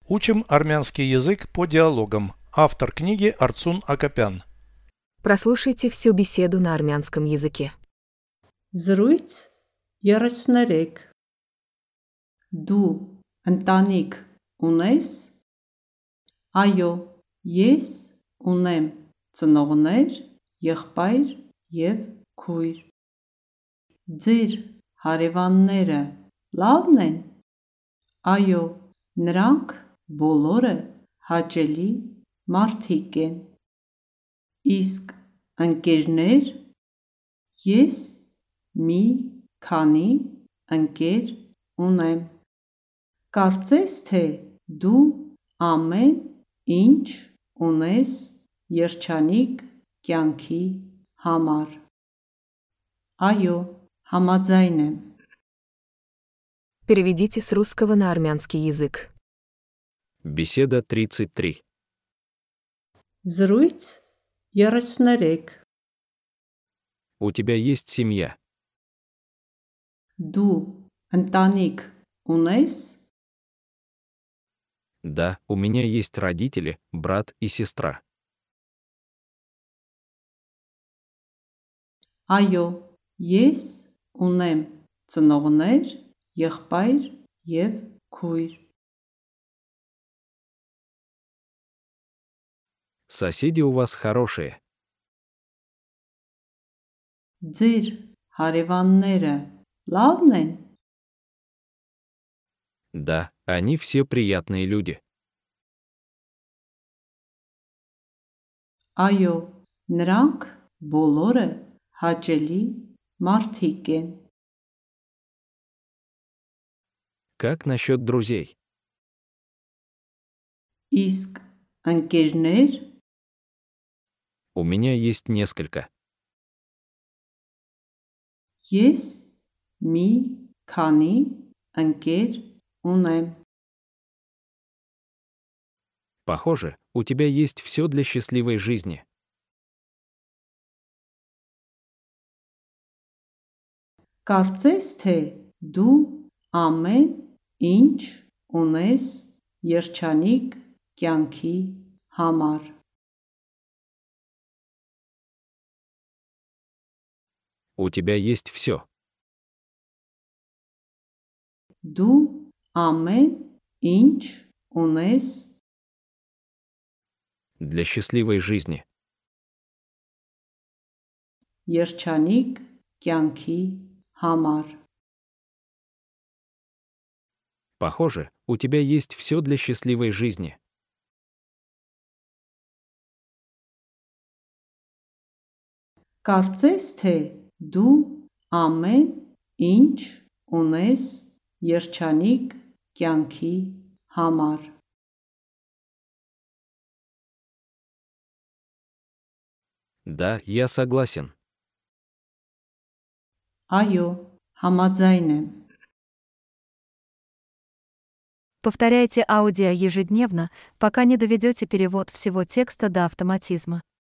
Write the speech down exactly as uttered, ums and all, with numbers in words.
Учим армянский язык по диалогам. Автор книги Арцун Акопян. Прослушайте всю беседу на армянском языке. Զրույց երեսուներեք Դու ընտանիք ունես? Այո, ես ունեմ ծնողներ, եղբայր և քույր։ Ձեր հարևանները լավն են? Այո, նրանք բոլորը հաճելի մարդիկ են։ Իսկ ընկերներ? Ես մի քանի ընկեր ունեմ։ Կարծես թե դու ամեն ինչ ունես երջանիկ կյանքի համար։ Այո, համաձայն եմ։ Переведите с русского на армянский язык. Беседа тридцать три. Զրույց երեսուներեք У тебя есть семья? Դու ընտանիք ունես? Да, у меня есть родители, брат и сестра. Այո, ես ունեմ ծնողներ, եղբայր և քույր։ Соседи у вас хорошие. Ձեր հարևանները լավն են? Да, они все приятные люди. Այո, նրանք բոլորը հաճելի մարդիկ են։ Как насчет друзей? Իսկ ընկերներ? У меня есть несколько. Ես մի քանի ընկեր ունեմ։ Похоже, у тебя есть все для счастливой жизни. Կարծես թե դու ամեն ինչ ունես երջանիկ կյանքի համար։ У тебя есть все. Դու ամեն ինչ ունես Для счастливой жизни. երջանիկ կյանքի համար։ Похоже, у тебя есть все для счастливой жизни. Կարծես թե դու ամեն ինչ ունես երջանիկ կյանքի համար։ Да, я согласен. Այո, համաձայն եմ։ Повторяйте аудио ежедневно, пока не доведете перевод всего текста до автоматизма.